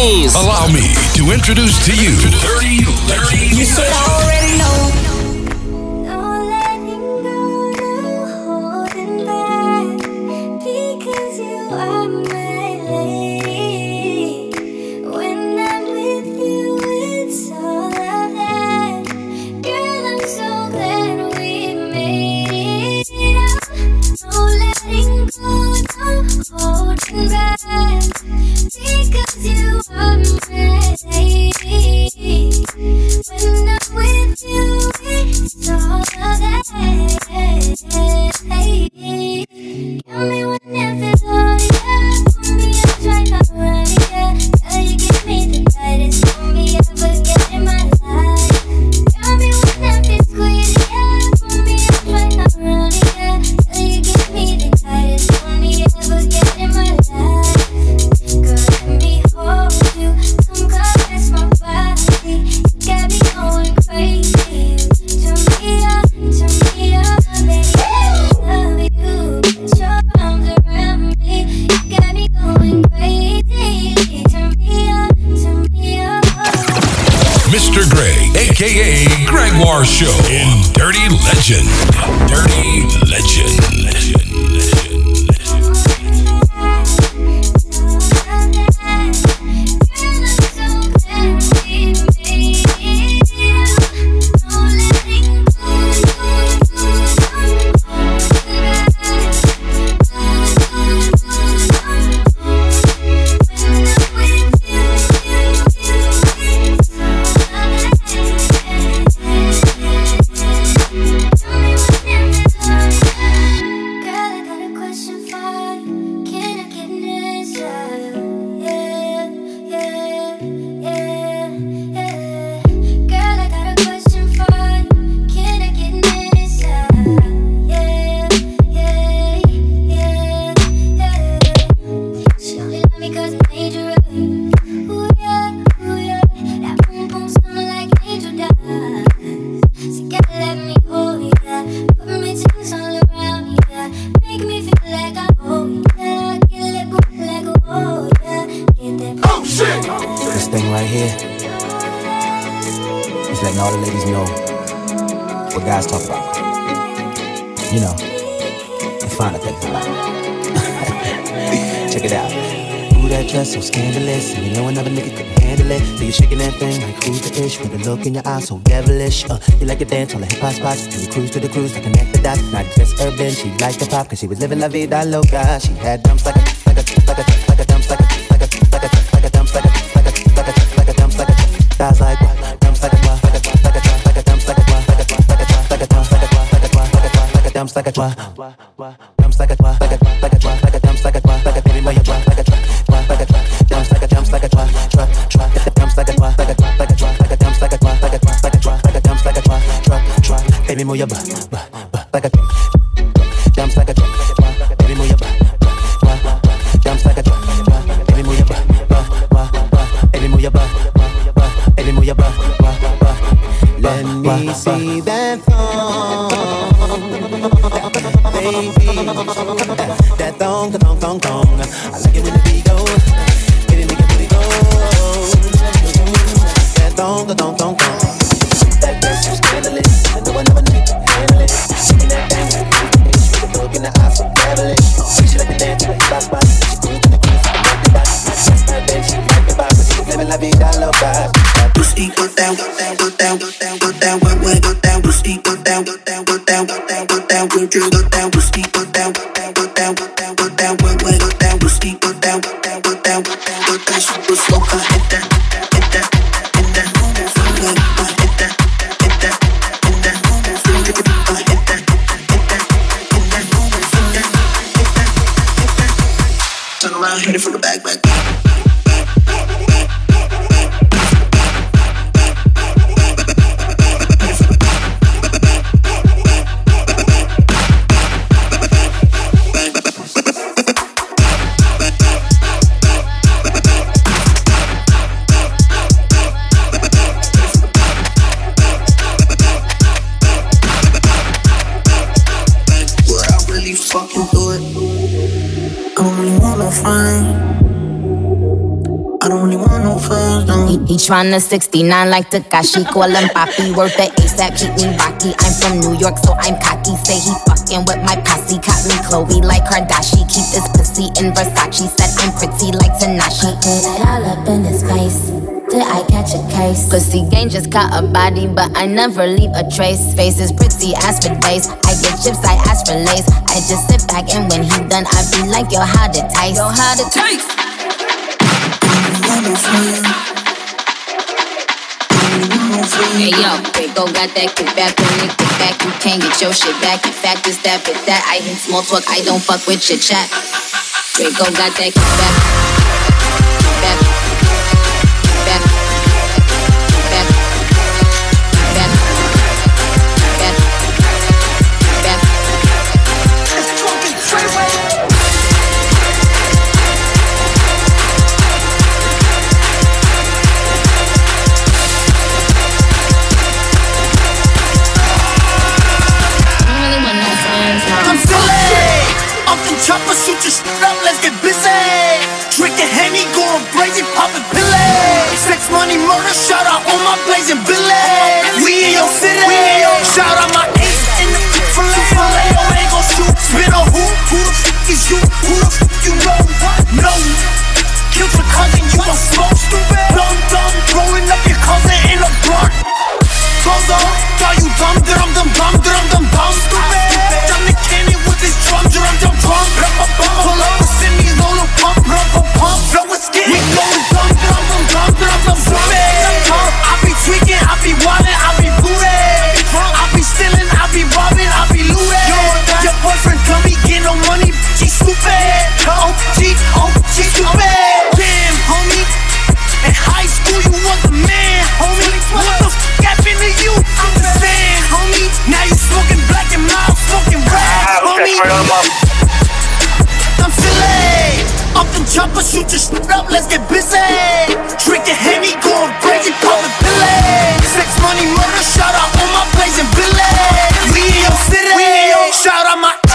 James. Allow me to introduce to you Dirty Legend. You should already know. Mr. Greg, a.k.a. Gregoire Show in Dirty Legend. Dirty Legend. So scandalous, and you know another nigga couldn't handle it. So you're shaking that thing like who's the ish with a look in your eyes so devilish. You like to dance on the hip hop spots, and you cruise to the cruise like connect the dots. Not just urban, she liked the pop, cause she was living la vida loca. She had dumps like a dumps like a dumps like a dumps like a dumps like a thighs like what? Dumps like a what? Like a dumps like a what? Like a dumps like a what? Like a dumps like a dumps like a what? Dumps like a what? Like a dumps like a what? Like a baby boy you what? Like a dumps like a dumps like a drop, dumps like a drop, like a dumps like a drop, like a dumps like a drop, baby move your butt, like a dumps like a drop, baby move your butt, dumps like a drop, baby move your butt, baby move your butt, baby move your butt, let me see that thong, baby, that thong, I like it when the beat goes. Don't. That girl's so scandalous. I know another nigga can handle it. Shaking that thing like bitch with a look in the eyes so devilish. She like to dance with the spot. She cruise to the cruise, I like the dots. That's her then she like the vibe, but she was living la vida loca. Pussy go down, go down, go down, go down, go down, go down, pussy go down, go down, go down, go down, go down, go down, pussy go down, go down, go down, go down, go down, go down, pussy go down, go down, go down, go down, go down, super smoker, hit that. Hit it from the back. I don't really wanna no friends, no. He tryna 69 like Takashi, call him Papi. Worth the ASAP, keep me rocky. I'm from New York, so I'm cocky. Say he fucking with my posse. Caught me Chloe like Kardashian. Keep this pussy in Versace. Said I'm pretty like Tanashi. Put it all up in his face. Did I catch a case? Pussy gang just caught a body, but I never leave a trace. Face is pretty as for days. I get chips, I ask for lace. I just sit back and when he done, I be like, yo, how to taste? Yo, how to taste? Hey yo, Draco got that kickback, when it kick back, you can't get your shit back. In fact, it's that, but that, I hate small talk, I don't fuck with chit chat. Draco got that kickback, kickback, kickback, kickback, kickback, kickback, kickback. It's a drunken freeway. Chopper, shoot your shit up, let's get busy. Drinking Henny, going crazy, popping pillars. Sex, money, murder, shout out all my blazing village. We in your city, shout out my ace in the filet. Yo, ain't gon' shoot, spin on who? Who the fuck is you? Who the fuck you know? No, killed your cousin, you gon' smoke, stupid. Dumb, blowing up your cousin in a blunt. Goes on, call you dumb, stupid. I'm the cannon with this drum, pull up the semis on the pump, flow with skin. We go dumb, stupid. I be tweaking, I be wildin', I be booty. I be stealing, I be robbing, I be looting. Your boyfriend dummy, get no money, she stupid. OG, stupid. Damn, homie. In high school, you was the man, homie. What the f*** happened to you? I'm the fan, homie. Now you smoking black and mild, smoking rap, homie. I'm silly. Up the chopper, shoot your shit up, let's get busy. Drinking Henny, going crazy, popping pillars. Sex, money, murder, shout out all my blazing village. We in your city, shout out my.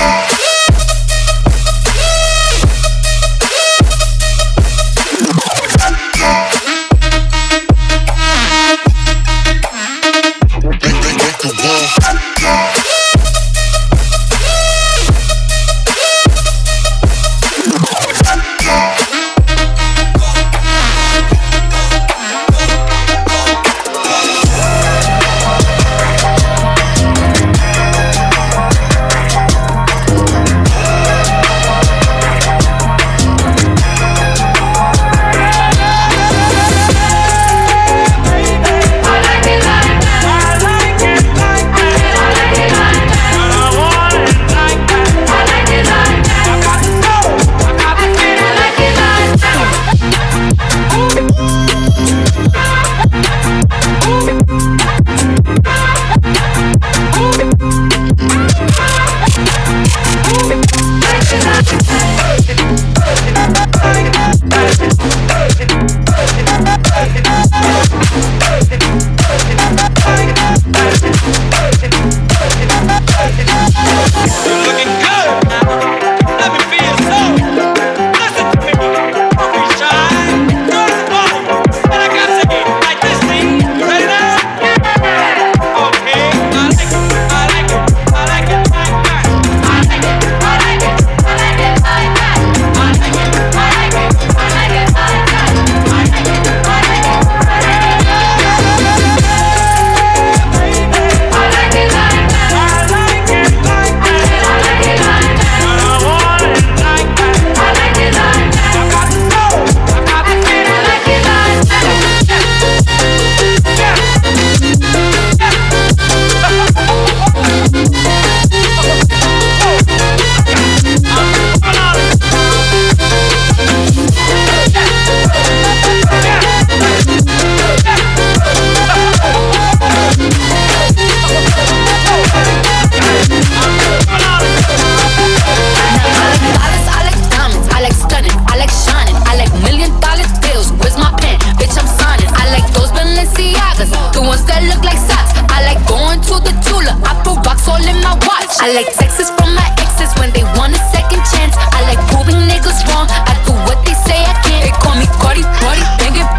I like texts from my exes when they want a second chance. I like proving niggas wrong. I do what they say I can't. They call me Cardi, banging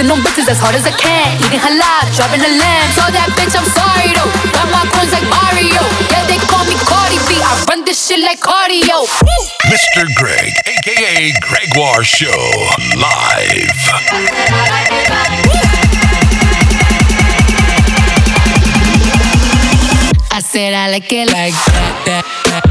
Busting on bitches as hard as I can. Eating halal, driving a lamb. So that bitch, I'm sorry though. Got my coins like Mario. Yeah, they call me Cardi B. I run this shit like cardio. Mr. Greg, aka Gregoire Show, live. I said I like it like that.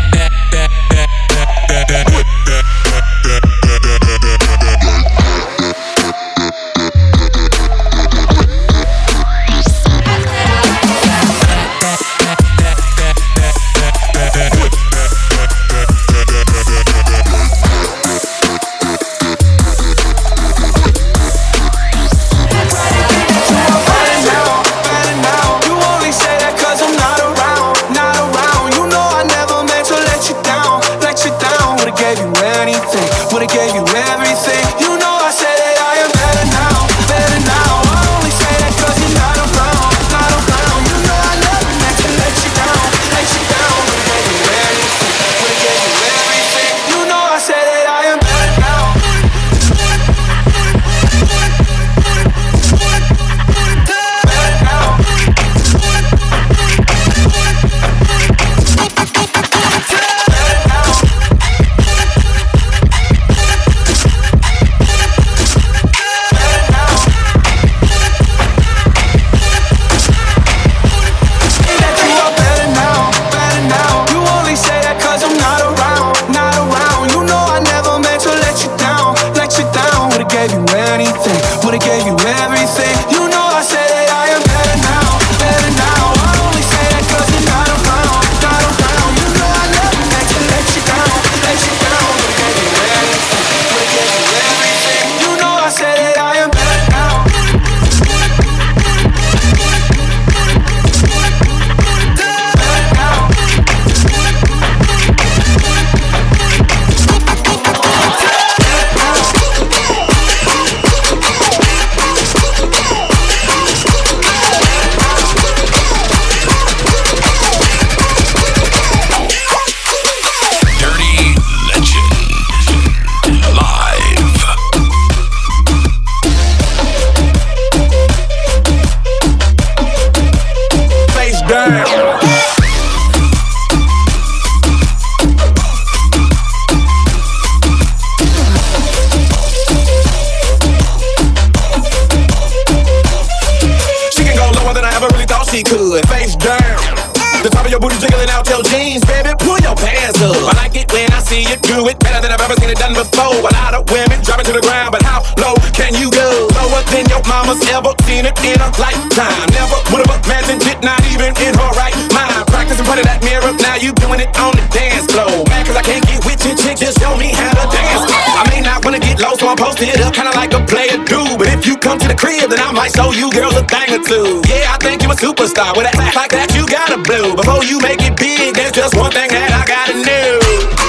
Then I might show you girls a thing or two. Yeah, I think you a superstar. With a act like that, you gotta blow. Before you make it big, there's just one thing that I gotta know.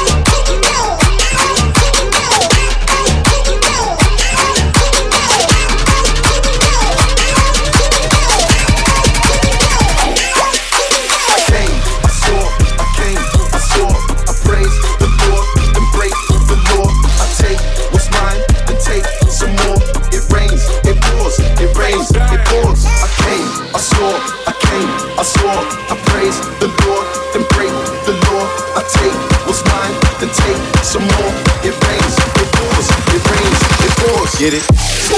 Get it?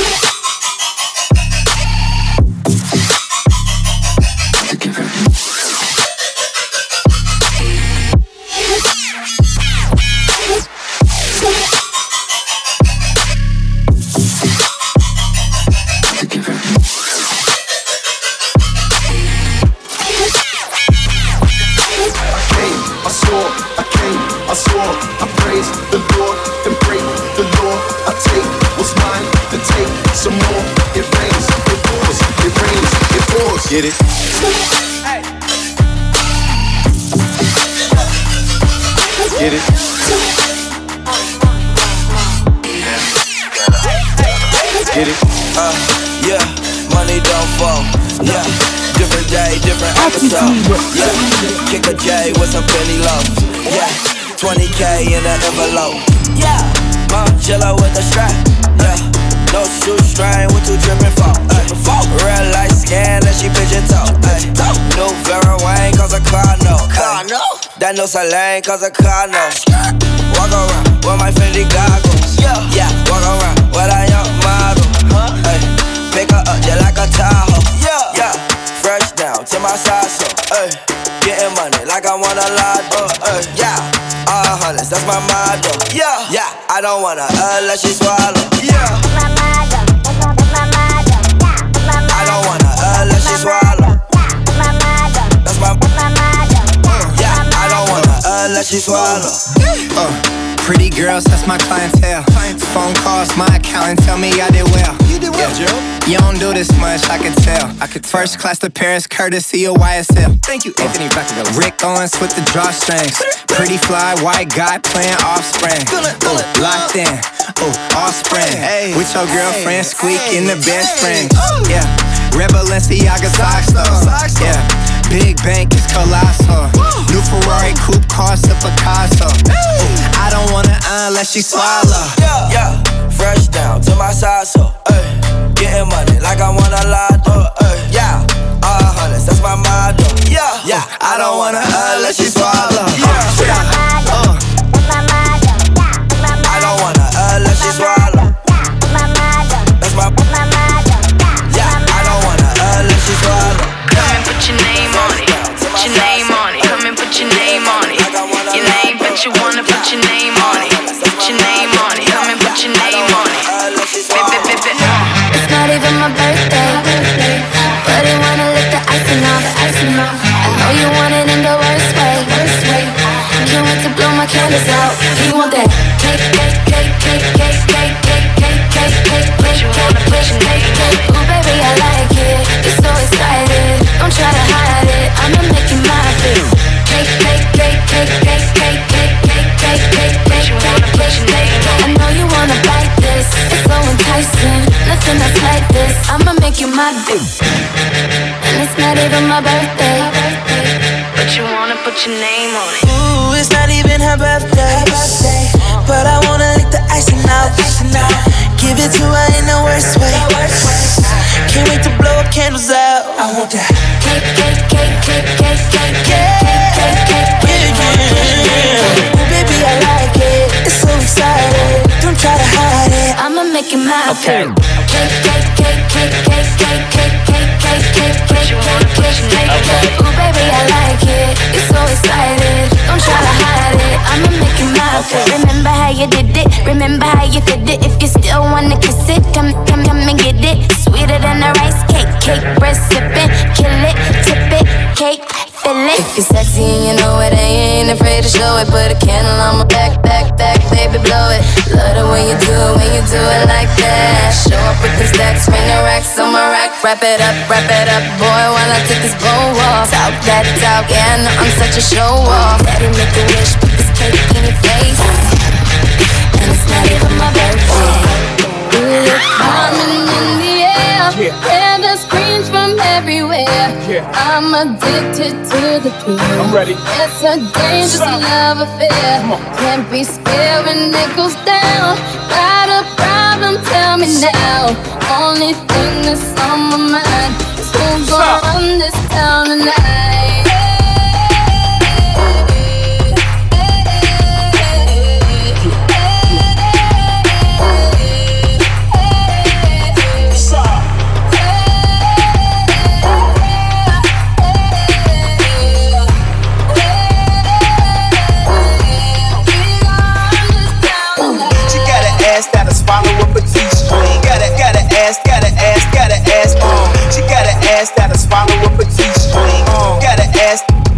Get it? Get it? Get it? Yeah, money don't fall. Yeah, different day, different episode. Yeah, kick a J with some penny loaves. Yeah, 20K in an envelope. Yeah, Jello with the strap. Yeah. No shoestring with two dripping fall. Real light skin and she pigeon toe. New Vera Wang cause a car no. That no Celine cause a car no. Walk around with my Fendi goggles. Yeah, walk around with a young model. Pick her up just like a Tahoe. Yeah, fresh down to my side so. Getting money like I want a lotto. Yeah, all hundreds, that's my motto. Yeah, I don't wanna let she swallow. Yeah, I don't wanna let she swallow. That's my yeah, I don't wanna let she swallow. Pretty girls, that's my clientele. Phone calls, my accountant tell me I did well. You did well, Joe. You don't do this much, I can tell. First class to Paris, courtesy of YSL. Thank you, Anthony Vacaville. Rick Owens with the drawstrings. Pretty fly, white guy playing Offspring. Locked in, Offspring. With your girlfriend, squeak in the bed spring. Yeah, Red Balenciaga socks though. Yeah, Big Bank is colossal. New Ferrari coupe cost a Picasso. I don't wanna unless she swallow. Yeah, fresh down to my side so. Getting money like I want a lotto. Yeah, all hundreds, that's my motto. Yeah, I don't wanna unless she swallow. I don't wanna unless she swallow. That's my yeah, I don't wanna unless she swallow. Come and put your name on it. Put your name on it. Come and put your name on it. Your name, but you wanna put your name on it. Put your name on it. Come and put your name on it. It's not even my birthday, but I wanna lick the icing off. I know you want it in the worst way. Can't wait to blow my candles out. You want that cake. Ooh, baby, I like it. You're so excited. Don't try to hide it. I'ma make you my bitch. Cake. I know you wanna bite this. It's so enticing. Nothing else like this. I'ma make you my bitch. And it's not even my birthday, but you wanna put your name on it. Ooh, it's not even her birthday, but I wanna lick the icing out. Give it to her in the worst way. Can't wait to blow up candles out. I want that cake. Ooh, baby, I like it. It's so exciting. Don't try to hide it. I'ma make it my okay. Ooh, baby, I like it. You're so excited. Don't try to hide it. I'ma make it my Remember how you did it. Remember how you did it. If you still wanna kiss it, come and get it. Sweeter than a rice cake. Breast sipping, kill it, tip it, cake. If you're sexy and you know it, I ain't afraid to show it. Put a candle on my back, baby, blow it. Love the way you do it like that. Show up with the stacks, ring the racks on my rack. Wrap it up, boy, while I take this bow off. Talk that talk, yeah, I know I'm such a show off. Daddy, make a wish, put this cake in your face. And it's not even my birthday. Coming in the air, hear the screams from everywhere. I'm addicted to the thrill. I'm ready. It's a dangerous love affair. Can't be scared when it goes down. Got a problem? Tell me now. Only thing that's on my mind is who's gonna run this town tonight. Follow up a T-string. Got an ass. She got an ass that'll swallow up a T-string. Got an ass.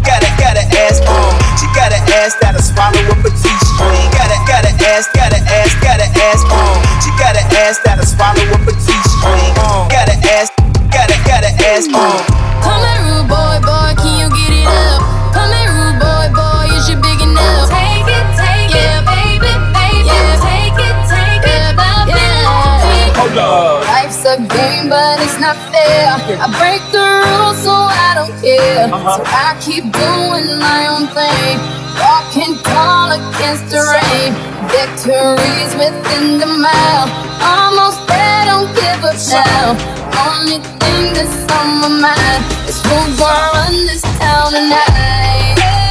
She got an ass that'll swallow up a T-string. Got an ass. She got an ass that'll swallow up a T-string. Got an ass. Come here, rude boy, can you get it up? Come here, rude boy, is you big enough? Take it, baby, yeah, take it, yeah. Hold up. Life's a game, but it's not fair. I break the rules, so I don't care. So I keep doing my own thing. Walking tall against the rain. Victories within the mile. Almost there, don't give up now. Only thing that's on my mind is who's gonna run this town tonight.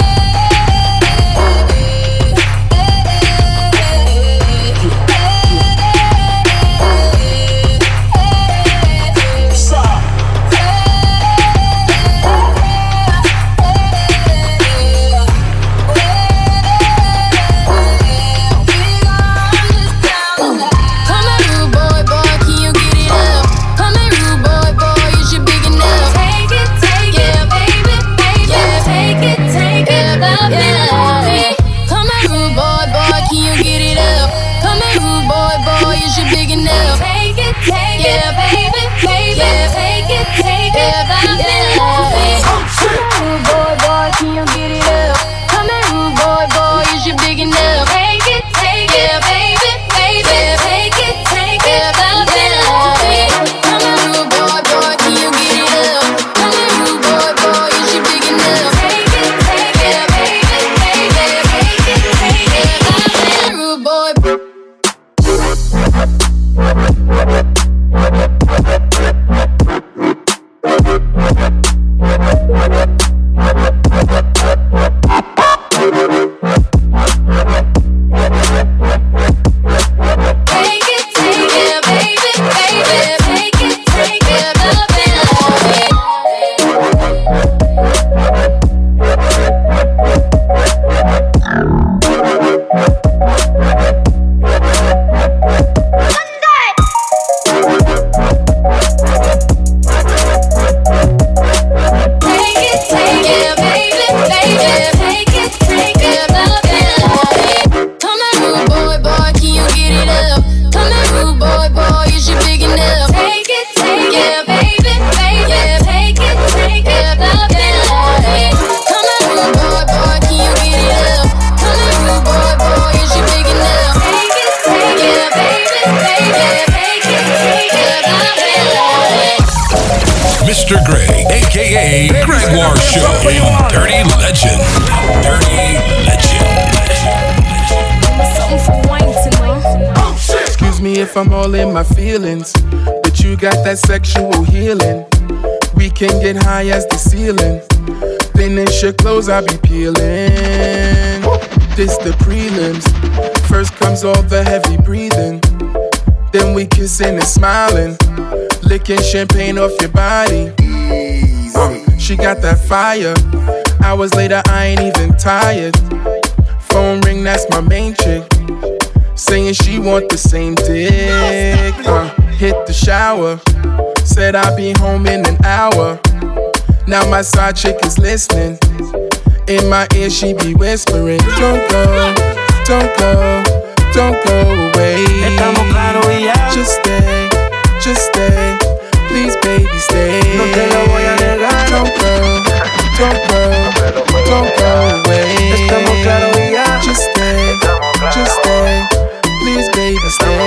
Mr. Greg, a.k.a. Gregoire Show, Dirty Legend. Dirty Legend. Excuse me if I'm all in my feelings, but you got that sexual healing. We can get high as the ceiling. Finish your clothes, I'll be peeling. This the prelims. First comes all the heavy breathing. Then we kissing and smiling. Licking champagne off your body. She got that fire. Hours later, I ain't even tired. Phone ring, that's my main chick. Saying she want the same dick. Hit the shower. Said I'll be home in an hour. Now my side chick is listening. In my ear, she be whispering. Don't go, don't go, don't go away. Estamos claros y ya. Just stay, just stay. Please, baby, stay. No te lo voy a negar. Don't go, don't go, don't go away. Estamos claros y ya. Just stay, just stay. Please, baby, stay.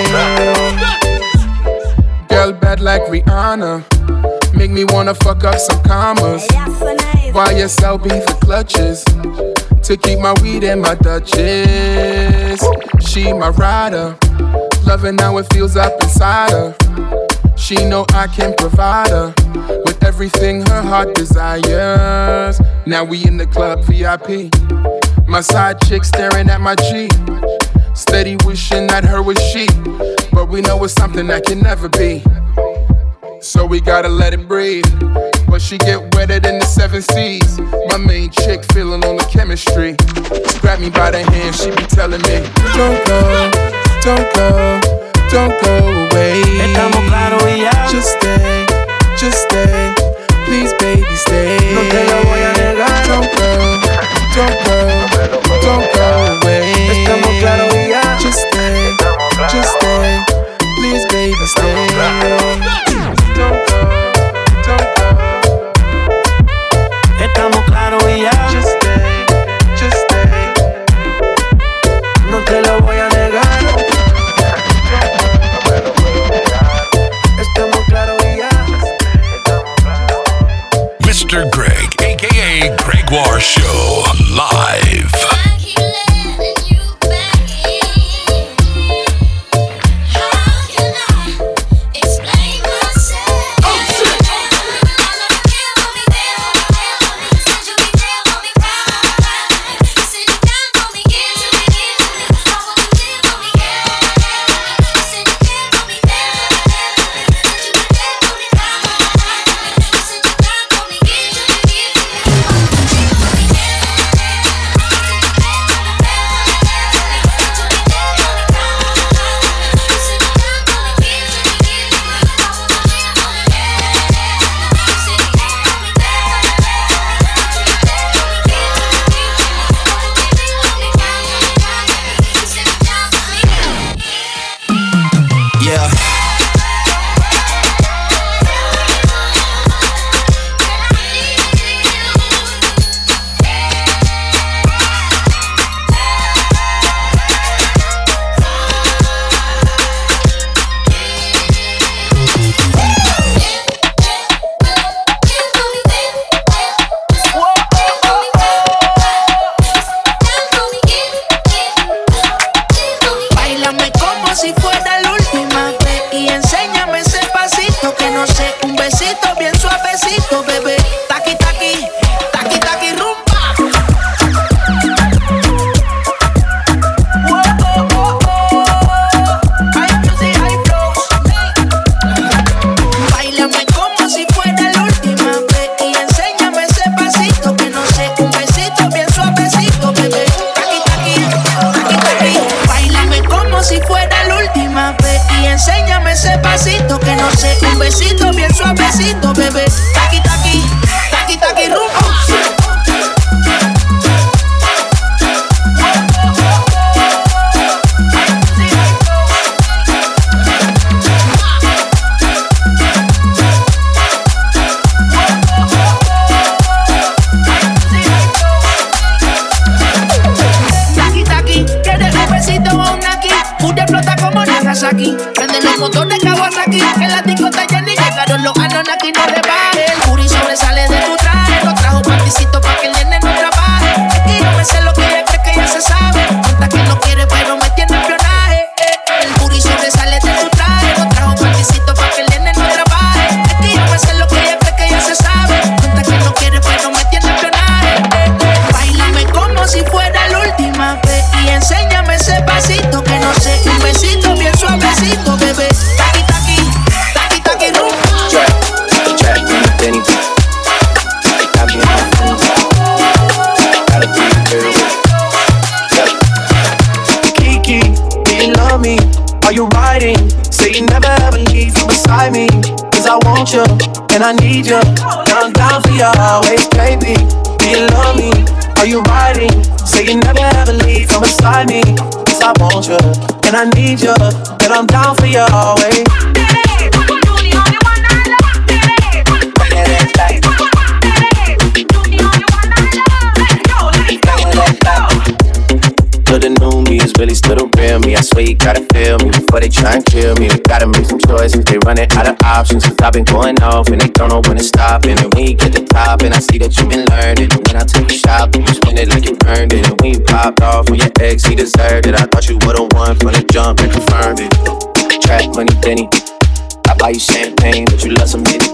Girl bad like Rihanna. Make me wanna fuck up some commas. YSL be the clutches to keep my weed in my Dutchess. She my rider, loving how it feels up inside her. She know I can provide her with everything her heart desires. Now we in the club VIP. My side chick staring at my G. Steady wishing that her was she, but we know it's something that can never be. So we gotta let it breathe. But she get wetter than the 7 seas. My main chick feeling on the chemistry. Grab me by the hand, she be telling me, don't go, don't go, don't go away. Estamos claros y ya. Just stay, just stay. Please, baby, stay. No te lo voy a negar. Don't go, don't go, don't go away. Estamos claros y ya. Just stay, just stay. Please, baby, stay. Don't go, don't go. Estamos claros y ya. Just stay, just stay. No te lo voy a negar. Estamos claros y ya. Mr. Greg, a.k.a. Gregoire Show, live. Are you riding? Say you never ever leave from beside me. Cause I want you, and I need you, and I'm down for you always, baby. Do you love me? Are you riding? Say you never ever leave from beside me. Cause I want you, and I need you, and I'm down for you always. So the new me is really still the real me. I swear you gotta feel me before they try and kill me. They gotta make some choices, they running out of options. Cause I've been going off and they don't know when to stop. And then when you get to the top and I see that you've been learning. And when I take you shopping, you spend it like you earned it. And when you popped off on your ex, he deserved it. I thought you would've won from the jump and confirmed it. Trap money, Benny. I buy you champagne, but you love some Henny.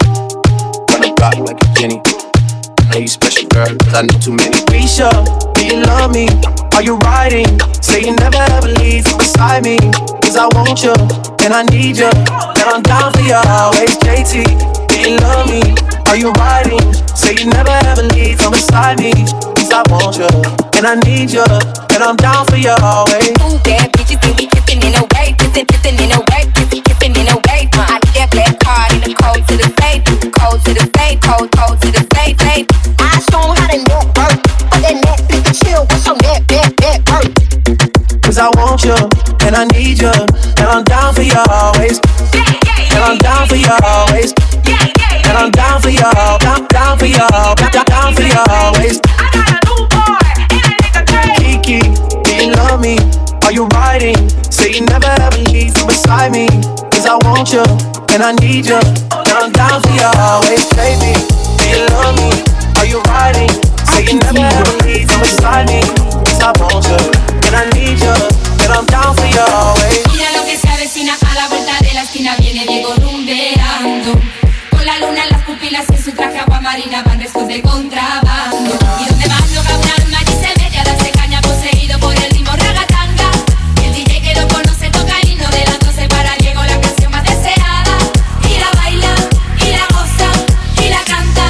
Run the block like a Jenny. I know you special, girl, cause I know too many. Risha, do you love me? Are you riding? Say you never ever leave from beside me. Cause I want you, and I need you, and I'm down for you always, JT. Do you love me? Are you riding? Say you never ever leave from beside me. Cause I want you, and I need you, and I'm down for you always. Ooh, bad bitches think we kissing in a way, kissing in a way, kissing in a way. I get that black card in the code to the safe, code to the safe, code to the safe, safe. I show 'em how they net work, but that net pick a chill, what's your net work? Cause I want you, and I need you, and I'm down for you always. And I'm down for you always. And I'm down for you, down for you, down for you always. I got a new boy, and a nigga Dre. Kiki, do you love me? Are you riding? Say you never ever leave from beside me. Cause I want you, and I need you, and I'm down for you always, baby. Do you love me? Are you riding? Say you never ever leave from beside me. Cause I want you, and I need you, and I'm down for you always. Mira lo que se avecina a la vuelta de la esquina, viene Diego rumbeando. Con la luna en las pupilas y en su traje agua marina van restos de contrabando. Y donde más no va un alma y se mete a darse caña poseído por el ritmo ragatanga. Y el DJ que lo conoce toca el himno de las 12 para Diego, la canción más deseada. Y la baila, y la goza, y la canta.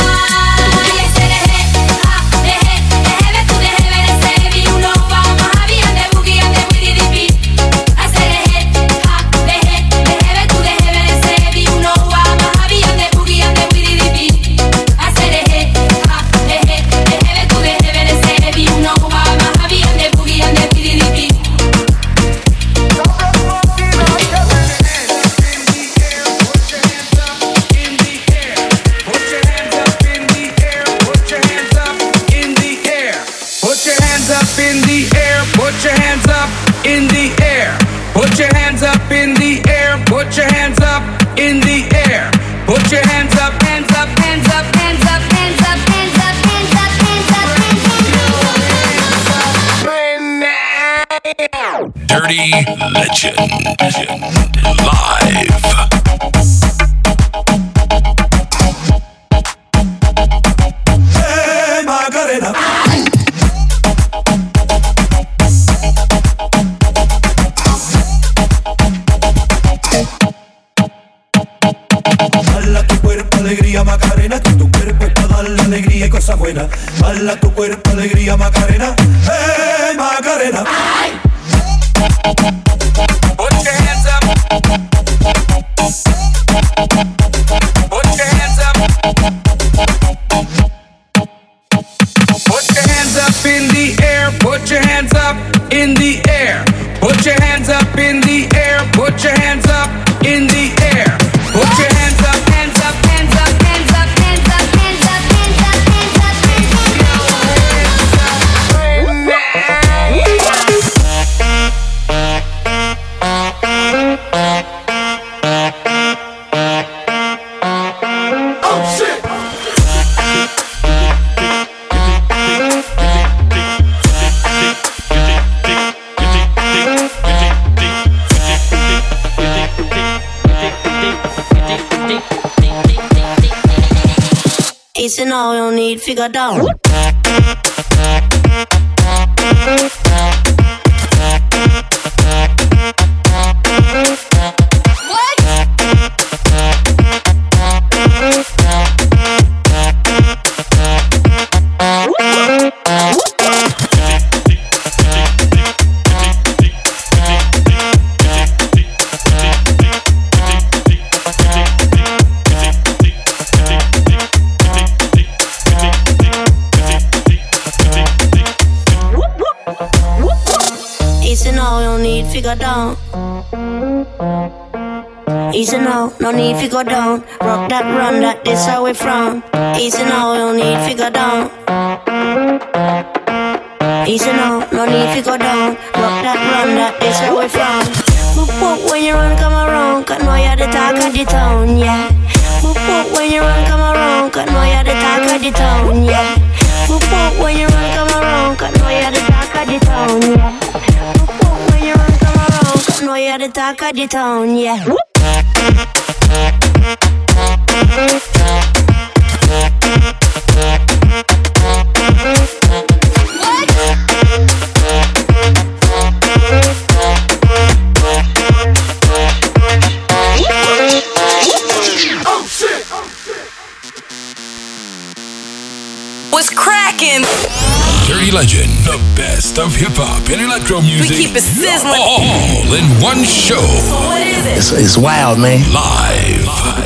Y ese deje, deje, tú deje ver ese vi uno va más había de boogie and de widdy dippy. Ese deje, deje, tú deje ver ese vi uno va más había de boogie and de widdy dippy. Ese deje, deje, tú deje ver ese vi uno va más había de boogie and de widdy dippy. Put your hands up in the air, put your hands up in the air. Put your hands up in the air, put your hands up in the air. Put your hands up, hands up, hands up, hands up, hands up, hands up, hands up, hands up, hands up. Dirty Legend live. Hey, Macarena. Dala tu cuerpo alegría Macarena, que tu cuerpo es para darle alegría y cosas buenas. Dala tu cuerpo alegría Macarena, hey Macarena. Put your hands up. Put your hands up. Put your hands up in the air. Put your hands up in the air. Put your hands up in the air. Put your hands up in the air. Put your hands up, hands up, hands up, hands up, hands up, hands up, hands up, hands up, Oh shit! Ace and all, you don't need figure down. fi go down. Easy now, no need fi go down. Rock that, run that, this how we from. Easy now, no need fi go down. Easy now, no need fi go down. Rock that, run that, this how we from. Boop boop when you run, come around, 'cause know you're the talk of the town, yeah. Boop boop when you run, come around, 'cause know you're the talk of the town, yeah. Boop boop when you run, come around, 'cause know you're the talk of the town, yeah. Boop boop when you run, come around, 'cause know you're the talk of the town, yeah. What's cracking? Dirty Legend, the best of hip hop and electro music. We keep it sizzling. All in one show. So what is it? It's wild, man. Live.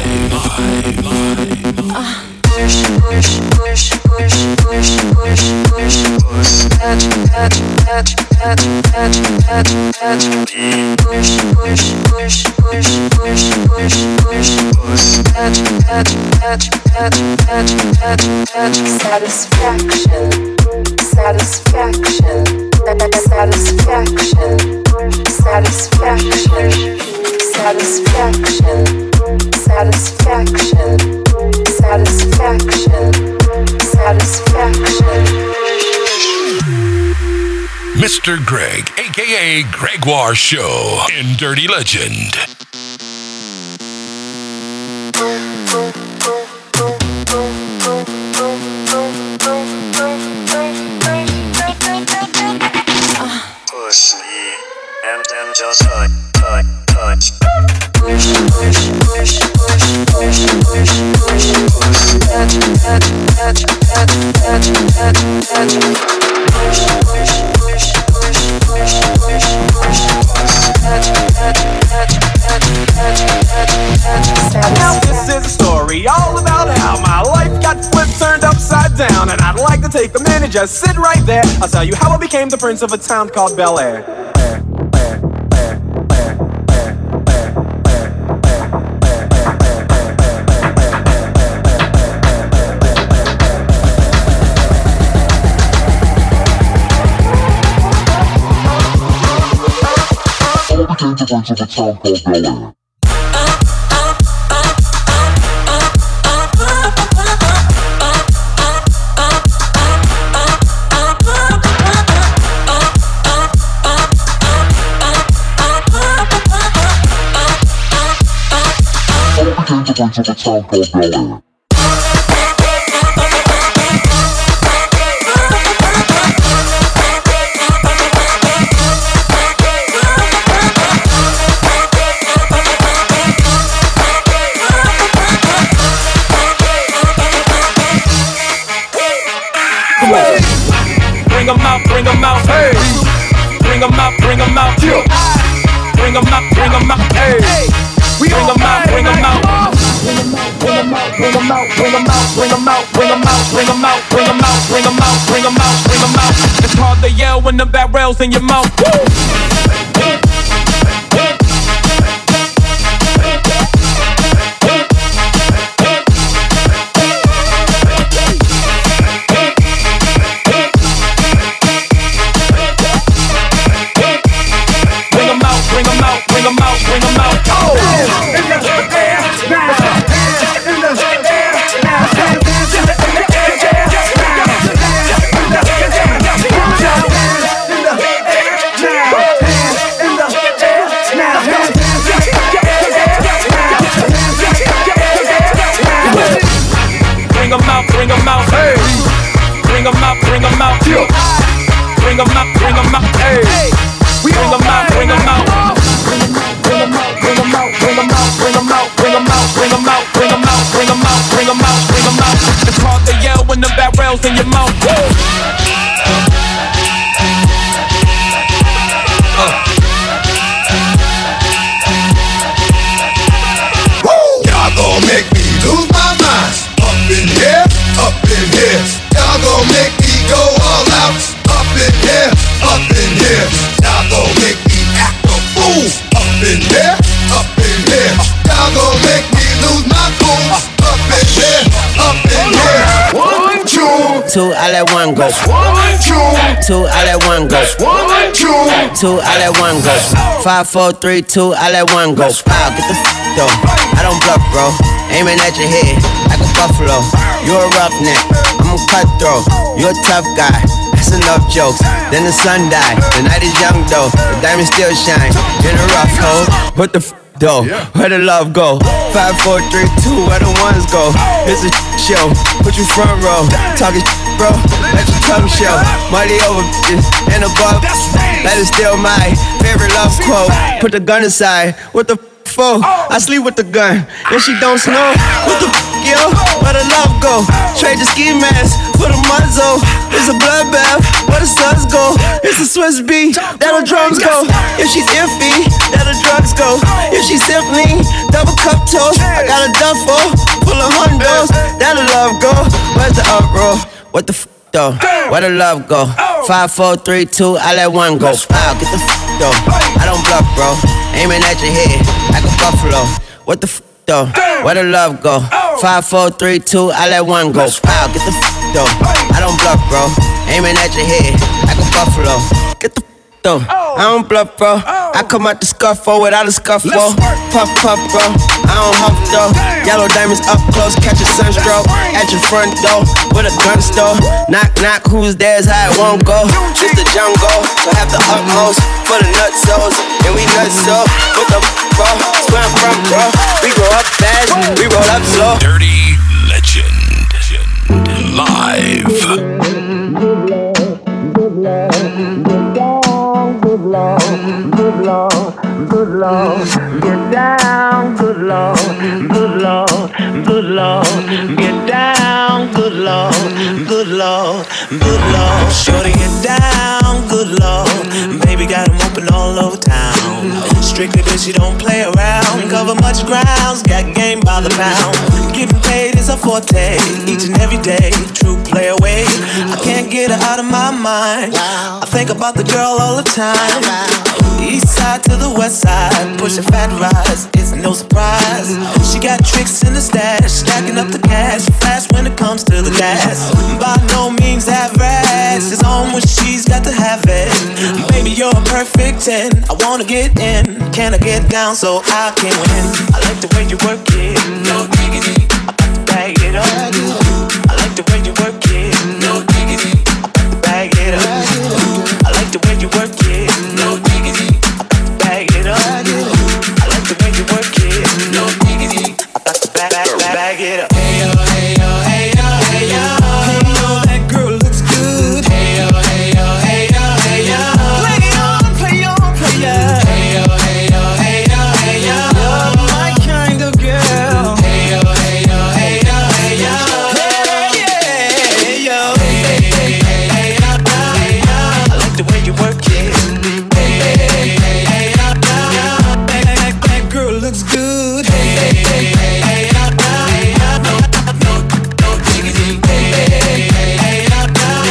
Push, push, push, push, push, push, push, push. Patch, patch, patch, patch, patch, patch, patch. Push, push, push, push, push, push, push, push. Patch, patch, patch, patch, patch, patch, patch. Satisfaction, satisfaction, satisfaction, satisfaction, satisfaction, satisfaction. Satisfaction, satisfaction. Mr. Greg, aka Gregoire Show in Dirty Legend. Push me and then just touch. Push, push, push, push, push, push, push, push. Patch, patch, patch, patch, patch, patch, patch. Push, push, push, push, push, push, push, push. Patch, patch, patch, patch, patch, patch, patch. Now this is a story all about how my life got flipped, turned upside down, and I'd like to take a minute, just sit right there. I'll tell you how I became the prince of a town called Bel Air. Bring 'em out, hey. Bring 'em out, bring 'em out, yeah. Bring 'em out, bring 'em out, hey. Bring 'em out, bring 'em out. Bring 'em out, bring 'em out, bring 'em out, bring 'em out, bring 'em out, bring 'em out, bring 'em out, bring 'em out, bring 'em out, bring 'em out, bring 'em out. It's hard to yell when the barrel's in your mouth. Woo! Bring 'em out, hey. Bring 'em out, bring 'em out, yeah. Bring 'em out, bring 'em out, hey. Bring 'em out, bring 'em out. Bring 'em out, bring 'em out, bring 'em out, bring 'em out, bring 'em out, bring 'em out, bring 'em out, bring 'em out, bring 'em out, bring 'em out, bring 'em out. It's hard to yell when the barrel's in your mouth. Y'all gon' make me lose my mind. Up in here, up in here. Y'all gon' make me go all out. Up in here, up in here. Y'all gon' make me act up 2, I let 1 go. 1, 2, 2, I let 1 go. 1, 2, 2, I let 1 go. 5, 4, 3, 2, I let 1 go. Wow, get the though. I don't bluff, bro. Aiming at your head like a buffalo. You a roughneck, I'm a cutthroat. You a tough guy. That's enough jokes. Then the sun died. The night is young though. The diamonds still shine. In a rough hole. What the though? Where the love go? 5, 4, 3, 2. Where the ones go? It's a show. Put you front row. Talking bro. Let your tongue show. Money over bitches and above. That is still my favorite love quote. Put the gun aside. What the for? I sleep with the gun. And she don't snow. What the yo? Where the love go? Trade the ski mask for the muzzle. It's a bloodbath. Where the suns go? It's a Swiss beat. That'll drums go. If she's iffy, that'll drugs go. If she's simply double cup toast, I got a duffel full of hundos. That'll love go. Where's the uproar? What the though? Where the love go? 5, 4, 3, 2, I let 1 go. Wow, get the though. I don't bluff, bro. Aiming at your head like a buffalo. What the though? Where the love go? 5, 4, 3, 2, I let 1 go. Wow, get the though. I don't bluff, bro. Aiming at your head like a buffalo. Get the though. I don't bluff, bro. I come out the scuffle without a scuffle. Puff, puff, bro. I don't huff, though. Yellow diamonds up close, catch a sunstroke. At your front door with a gun store. Knock, knock, who's there's how it won't go. It's the jungle, so have the utmost for the nutsos. And we nuts so with the bro. That's where I'm from, bro. We grow up fast, we roll up slow. Dirty Legend live. Good Lord, good Lord, get down, good Lord, good Lord, good Lord, get down, good Lord, good Lord, good Lord. Shorty get down, good Lord, baby got him open all over town. Strictly bitch, she don't play around, cover much grounds, got game by the pound. Getting paid is a forte, each and every day, true play away. I can't get her out of my mind, I think about the girl all the time. East side to the west side, pushing fat rides, it's no surprise. She got tricks in the stash, stacking up the cash, fast when it comes to the gas. By no means average, it's on when she's got to have it. Baby, you're a perfect 10, I wanna get in. Can I get down so I can win? I like the way you work it, no diggity, I got to bag it up. I like the way you work it, no diggity, I got to bag it up. I like the way you work it, no diggity, I got to bag it up. I like the way you work it, no diggity, I got to bag it up. Hey yo, hey yo, hey yo, hey yo, hey yo, that girl looks good. Hey yo, hey yo, hey yo, hey yo, play on, play on, play on. Hey yo, hey yo, hey yo, hey yo, you're my kind of girl. Hey yo, hey yo, hey yo, hey yo, hey yeah, hey yo, hey hey hey hey yo, hey yo, I like the way you work it. Hey hey hey hey yo, that girl looks good. Hey hey hey hey yo, no diggity. Hey hey hey yo,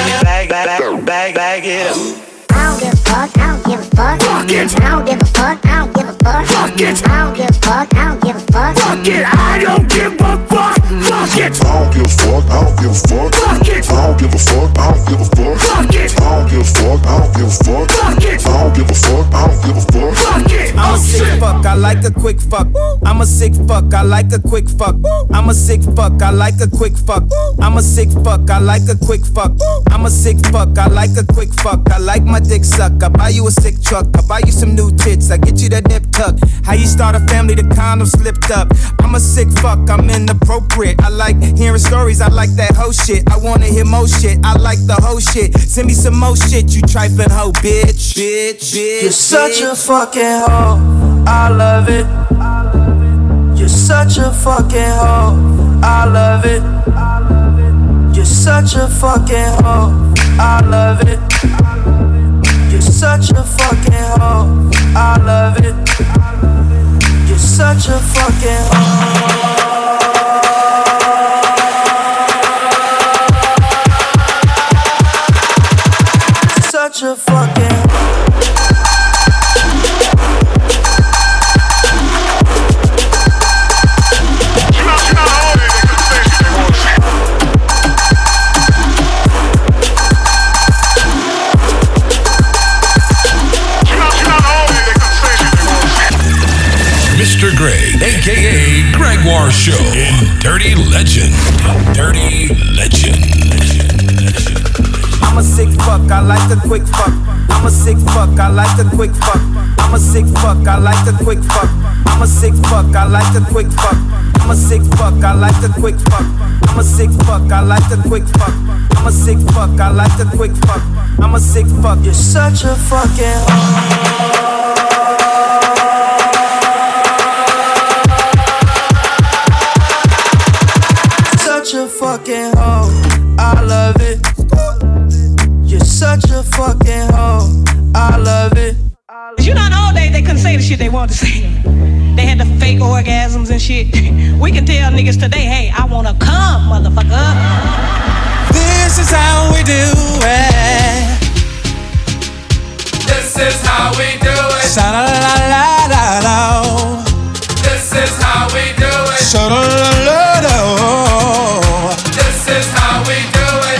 bag it up. I don't give a fuck, I don't give a fuck. Fuck it. I don't give a fuck, I don't give a fuck. Fuck it. I don't give a fuck, I don't give a fuck. Fuck it, I don't give a fuck. Fuck it. I don't give a fuck, I don't give a fuck. Fuck it. I don't give a fuck, I don't give a fuck. Fuck it. I don't give a fuck, I don't give a fuck. Fuck it. I don't give a fuck, I don't give a fuck. Fuck it. I'm a sick fuck, I like a quick fuck. I'm a sick fuck, I like a quick fuck. I'm a sick fuck, I like a quick fuck. I'm a sick fuck, I like a quick fuck. I'm a sick fuck, I like a quick fuck. I like my dick suck, I buy you a sick truck. I buy you some new tits, I get you that nip tuck. How you start a family, the condom slipped up. I'm a sick fuck, I'm inappropriate. I like hearing stories, I like that whole shit. I wanna hear more shit, I like the whole shit. Send me some more shit, you trifling hoe, bitch. Bitch, bitch. You're such a fucking hoe, I love it. You're such a fucking hoe, I love it. You're such a fucking hoe, I love it. You're such a fucking hoe, I love it. You're such a fucking hoe. Such a fucking Show in Dirty Legend. Dirty Legend. I'm a sick fuck, I like a quick fuck. I'm a sick fuck, I like a quick fuck. I'm a sick fuck, I like a quick fuck. I'm a sick fuck, I like a quick fuck. I'm a sick fuck, I like a quick fuck. I'm a sick fuck, I like a quick fuck. I'm a sick fuck, I like a quick fuck. I'm a sick fuck. You're such a fucking such a fucking hoe. I love it. You're such a fucking hoe. I love it. You know, in the old days they couldn't say the shit they wanted to say. They had the fake orgasms and shit. We can tell niggas today, hey, I wanna come, motherfucker. This is how we do it. This is how we do it. Sha-la-la-la-la-la. This is how we do it. Sha-la-la-la-la. This is how we do it.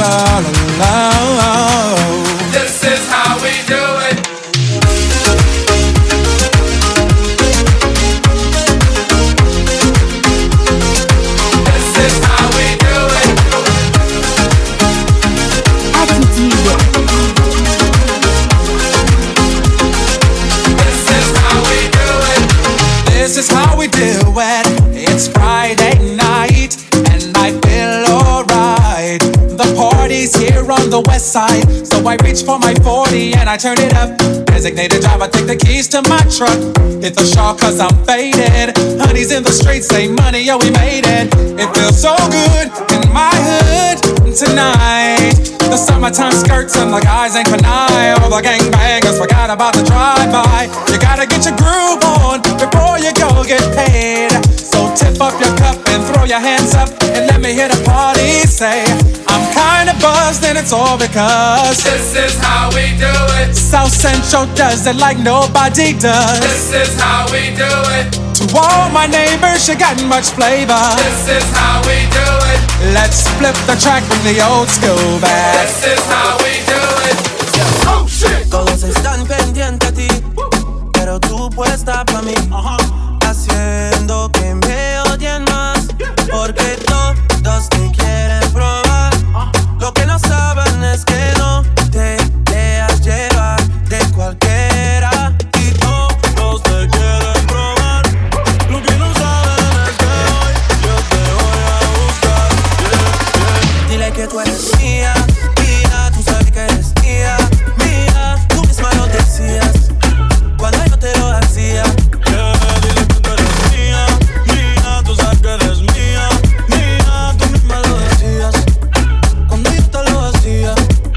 This is how we do it. This is how we do it. Attitude. This is how we do it. This is how we do it. It's Friday night and I feel alright. The party's here on the west side, so I reach for my 40 and I turn it up. Designated driver, take the keys to my truck. Hit the shawl cause I'm faded. Honey's in the streets, say money, yo, we made it. It feels so good in my hood tonight. The summertime skirts and the guys ain't canine. All the gangbangers forgot about the drive-by. You gotta get your groove on before you go get paid. So tip up your cup and throw your hands up and let me hear the party say, I'm kinda buzzed and it's all because this is how we do it. South Central does it like nobody does. This is how we do it. To all my neighbors, you got much flavor. This is how we do it. Let's flip the track with the old school back. This is how we do it. Oh shit. Todos están pendientes a ti, pero tú puesta pa' mí, haciendo que me odien más, porque todos te quieren probar. Lo que no saben es que no te dejas llevar de cualquiera y todos te quieren probar. Lo que no saben es que hoy yo te voy a buscar. Dile que tú eres mía, mía, tú sabes que eres mía, mía, tú misma lo decías cuando yo te lo hacía. Dile que tú eres mía, mía, tú sabes que eres mía, mía, tú misma lo decías cuando yo te lo hacía.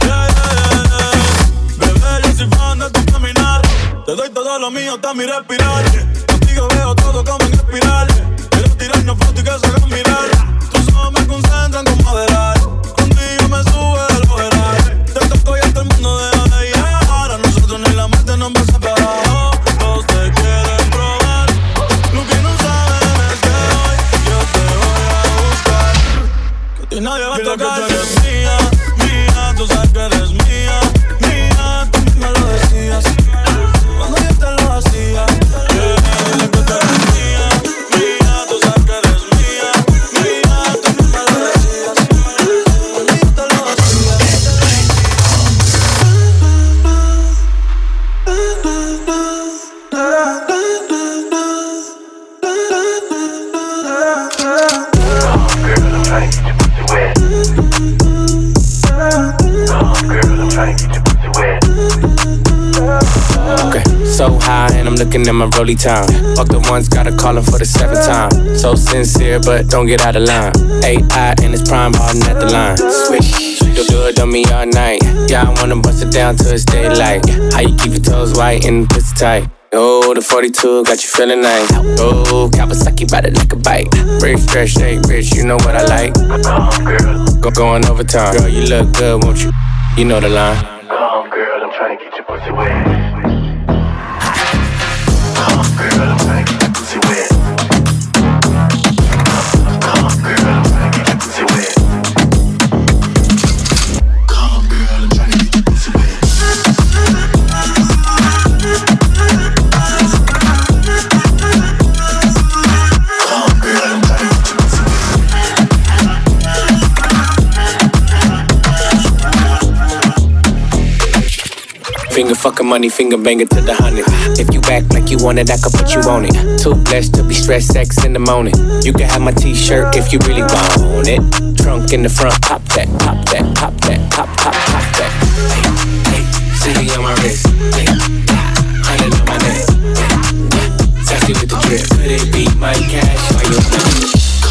Bebé, yo soy fan de tu caminar, te doy todo lo mío hasta mi respirar. Contigo veo todo como en espiral. Quiero tirarnos fotos y que se hagan mirar. Tus ojos me concentran con moderar. Contigo me sube el overall. Te toco y a todo el mundo deja de llegar. A nosotros ni la mente nos va a separar. Todos te quieren probar. Lo que no saben es que hoy yo te voy a buscar. Que a ti nadie va a tocar. Que tú eres mía, mía, tú sabes que eres mía, mía, tú misma lo decías cuando yo te lo hacía. Dile que tú eres mía, mía, tú sabes que eres mía, mía, tú misma lo decías cuando yo te lo hacía. Okay, so high and I'm looking at my rollie time. Fuck the ones, gotta call him for the 7th time. So sincere, but don't get out of line. AI and it's prime hardin' at the line. Swish, do it on me all night. Yeah, I wanna bust it down till it's daylight. How you keep your toes white and the pussy tight? Oh, the 42 got you feeling nice. Oh, Kawasaki bout it like a bike. Rich, fresh, shake, rich, you know what I like. Going overtime. Girl, you look good, won't you? You know the line. Come on, girl, I'm trying to get your pussy wet. Come on, girl, I'm trying to get your pussy wet. Come on, girl, I'm trying to get your pussy wet. Come on, girl, I'm trying to get your pussy wet. Come on, girl, I'm trying Finger fucking money, finger banger to the 100. If you act like you want it, I can put you on it. Too blessed to be stressed, sex in the morning. You can have my t-shirt if you really want it. Trunk in the front, pop that, pop that, pop that, pop, pop, pop that. Hey, CD on my wrist, hey, 100 on my neck. Sassy with the drip, could it be my cash or your money?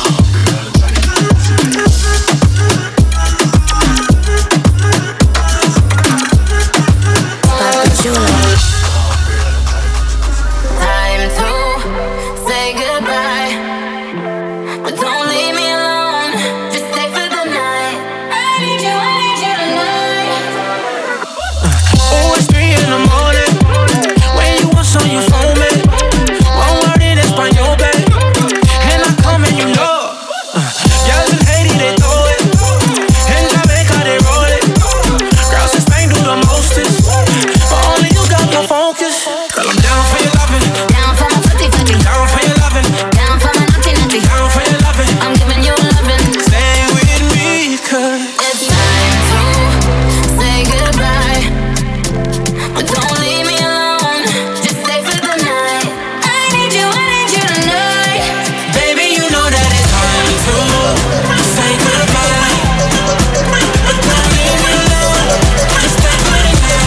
Time to say goodbye, but don't leave me alone. Just stay for the night. I need you tonight. Oh, it's 3 in the morning. When you want some, you phone me. One word in Espanol, babe. And I come and you know. Y'all in Haiti, they throw it. In Jamaica, they roll it. Girls in Spain do the mostest. But only you got the focus. Girl, I'm down for your loving. Down for my footy footy. Down for your loving. Down for my naughty naughty. Down for your loving. I'm giving you loving. Stay with me, cause it's time to say goodbye, but don't leave me alone. Just stay for the night. I need you tonight. baby, you know that it's time to say goodbye. But don't leave me alone. Just stay for the night.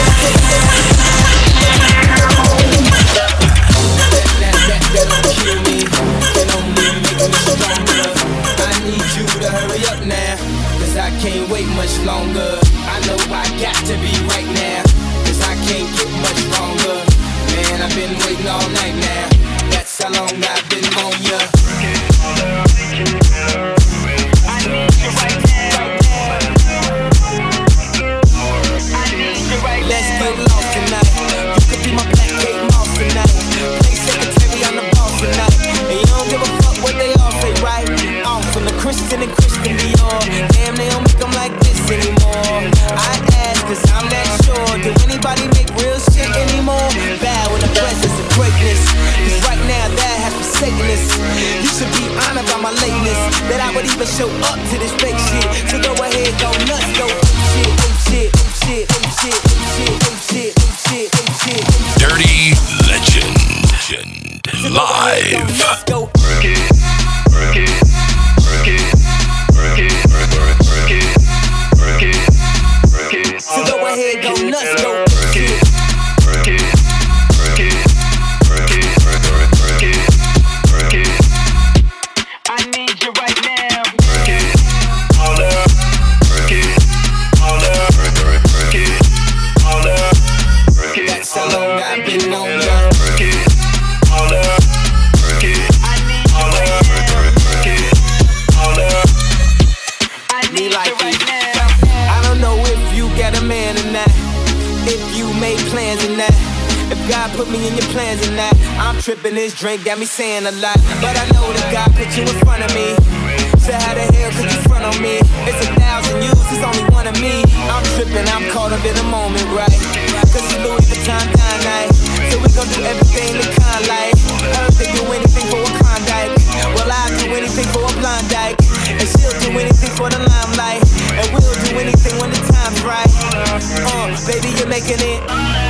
That don't kill me, that only make me stronger. I need you to hurry up now, cause I can't wait much longer. I know I got to be right now, cause I can't get much longer. Man, I've been waiting all night now, that's how long I've been on ya. I need you right now. Let's get lost tonight. You could be my Black Kate Moss tonight. Play secretary on the boss tonight. And you don't give a fuck what they all say, right? I'm from the Christian and Christian Dior. Damn, they don't make them like this anymore. I ask cause I'm not sure. Do anybody make real shit anymore? Bow in the presence of greatness. Cause right now that has forsaken us. You should be honored by my lateness, that I would even show up to this fake shit. So go ahead, go nuts, go shit, shit, shit, shit, shit, shit, shit, shit. Dirty Legend. Live. Let's go. So go ahead, go nuts, go. I need you right now. That's how long I've been on ya. Plans in that. If God put me in your plans in that, I'm tripping, this drink got me saying a lot. But I know that God put you in front of me. So how the hell could you front on me? It's 1,000 yous, it's only one of me. I'm tripping, I'm caught up in the moment, right? Cause it's Louis Vuitton dine night. So we gon' do everything the kind like. Heard they do anything for a Klondike. Well, I'll do anything for a blind dyke. And she'll do anything for the limelight. And we'll do anything when the time's right. Baby, you're making it.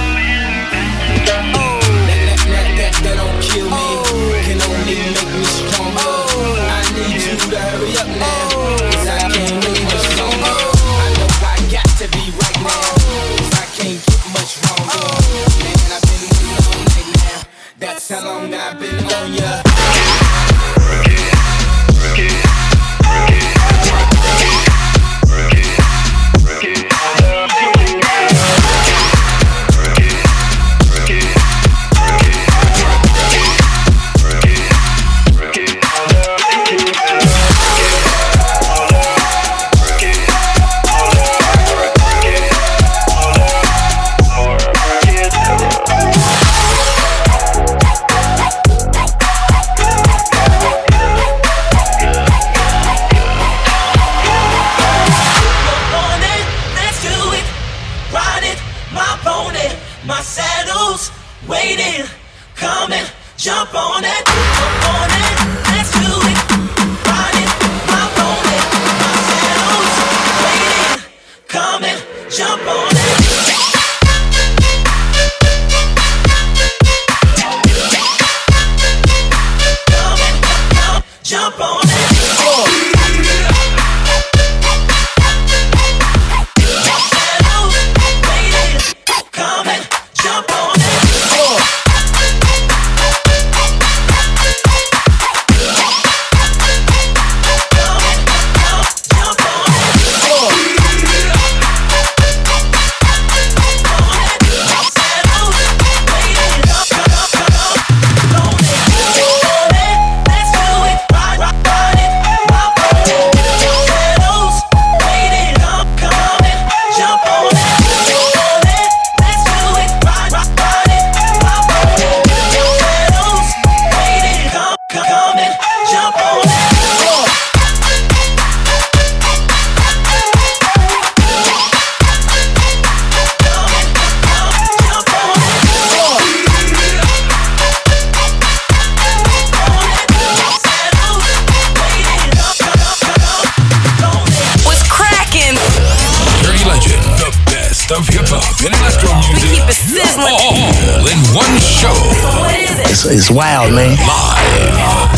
That don't kill me, can only make me stronger. I need you to hurry up now, cause I can't wait much longer. I know I got to be right now, cause I can't get much longer. Man, I've been waiting all night now, that's how long I've been on ya. Jump on it, let's do it. Ride it, my pony, my saddle's waiting. Come and jump on it. best of hip hop and electro music. We keep it sizzling. All in one show. What is it? It's wild, man. Live.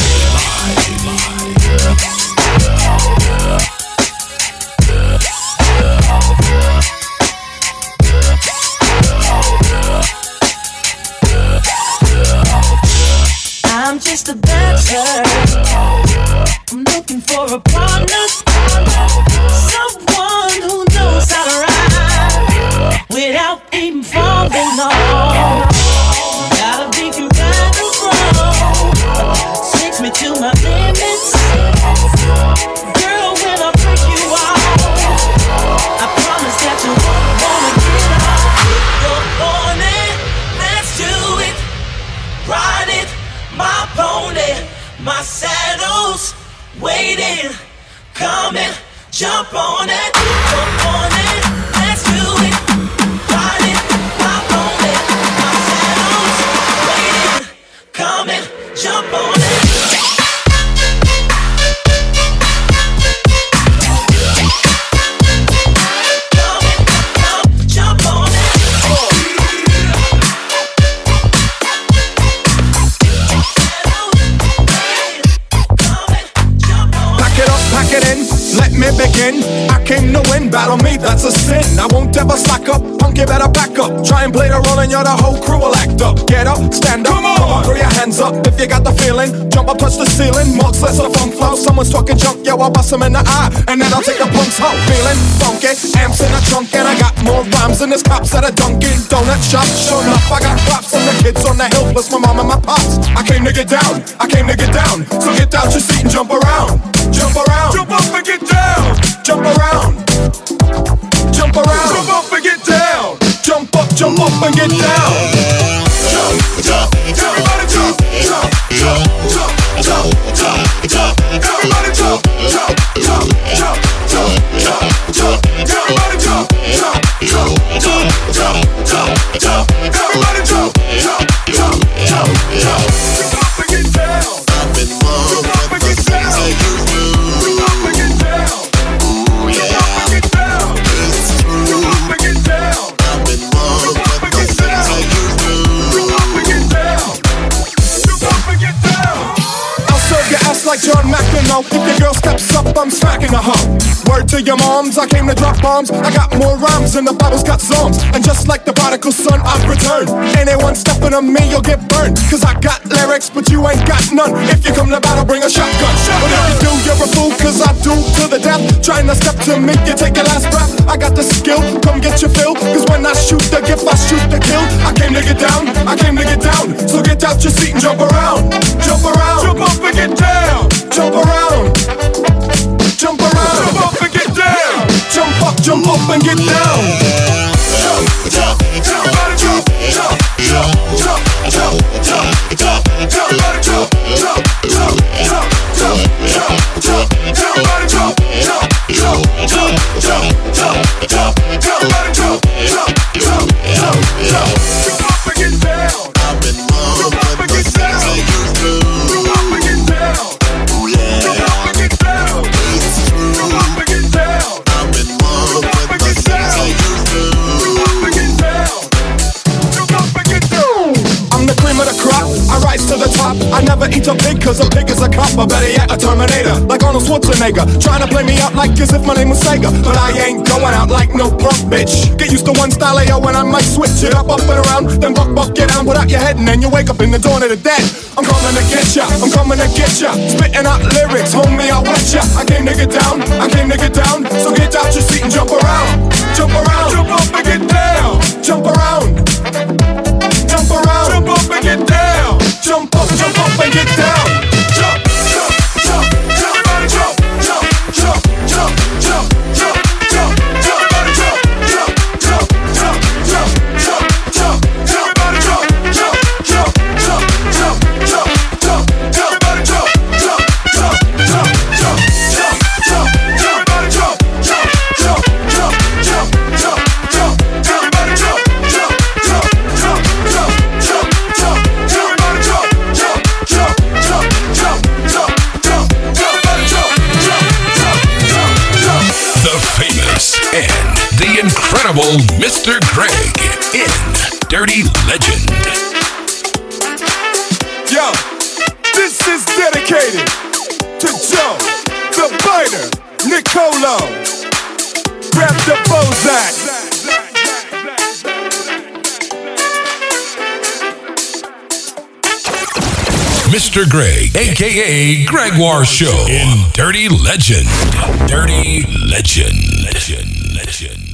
I'm just a bachelor. I'm looking for a partner, someone who knows how to ride without even falling off. Gotta be compatible, takes me to my limits. Girl, when I break you off, I promise that you won't wanna get off. You're on it, let's do it, ride it. My pony, my saddle's waiting, coming, jump on it, let's do it, ride it, my pony, my saddle's waiting, coming, jump on it. Let me begin. I came to win, battle me, that's a sin. I won't ever slack up, punk, you better back up. Try and play the role and you're the whole crew will act up. Get up, stand up, come on, throw your hands up if you got the feeling. Jump up, touch the ceiling, marks less of funk flow. Someone's talking junk, yo, I'll bust them in the eye, and then I'll take a punk's hoe. Feeling funky, amps in the trunk, and I got more rhymes than this cops at a Dunkin' Donut shop. Sure enough, I got props from the kids on the hill, plus my mom and my pops. I came to get down, I came to get down. So get out your seat and jump around. Jump around, jump up and get down. Jump around, jump around, jump up and get down. Jump up and get down. Jump, jump, everybody jump, jump, jump, jump, jump, jump, jump. Everybody jump, jump, jump, jump, jump, jump, jump. Everybody jump, jump, jump, jump, jump, jump, jump. Everybody jump, jump, jump, jump, jump. Jump up and get down. Jump up and get down. Jump up and get down. Like John McEnroe, if your girl steps up, I'm smacking her hoe. Word to your moms, I came to drop bombs. I got more rhymes and the Bible's got songs. And just like the prodigal son, I've returned. Anyone stepping on me, you'll get burned. Cause I got lyrics, but you ain't got none. If you come to battle, bring a shotgun. But if you do, you're a fool, cause I do to the death. Trying to step to me, you take your last breath. I got the skill, come get your fill. Cause when I shoot the gift, I shoot the kill. I came to get down, I came to get down. So get out your seat and jump around. Jump around, jump up and get down. Jump around, jump around, jump up and get down. Jump up and get down. Jump, jump, everybody jump, jump, jump, jump, jump, jump, jump. Everybody jump, jump, jump, jump, jump, jump, jump. Everybody jump, jump, jump, jump, jump, jump, jump. Everybody jump, jump, jump, jump, jump. Jump up and get down. Jump up and get down. Jump up and get down. Jump up and get down. Jump up and get down. Jump up and get down. Jump up and get down. Jump up and get down. I'm the cream of the crop, I rise to the top. I never eat a pig cause a pig is a cop. Or better yet, a Terminator, like Arnold Schwarzenegger. Trying to play me out like as if my name was Sega. But I ain't going out like no punk bitch. Get used to one style of yo when I might switch it up and around. Then buck, get down, put out your head and then you wake up in the dawn of the dead. I'm coming to get ya, I'm coming to get ya. Spitting out lyrics, homie, I'll wet ya. I came to get down, I came to get down. So get out your seat and jump around. Jump around, jump up and get down. Jump around, jump around, jump up and get down. Jump up and get down. Jump, jump, jump, everybody jump, jump, jump, jump, jump, jump, jump, everybody jump, jump, jump, jump, jump, jump, jump, everybody jump, jump, jump, jump, jump, jump, jump, everybody jump, jump, jump, jump, jump, jump, jump, everybody jump, jump, jump, jump, jump. incredible Mr. Greg in Dirty Legend. Yo, this is dedicated to Joe, the biter, Nicolo. Grab the Bozak. Mr. Greg, aka Gregoire Show in Dirty Legend. Dirty Legend. Legend.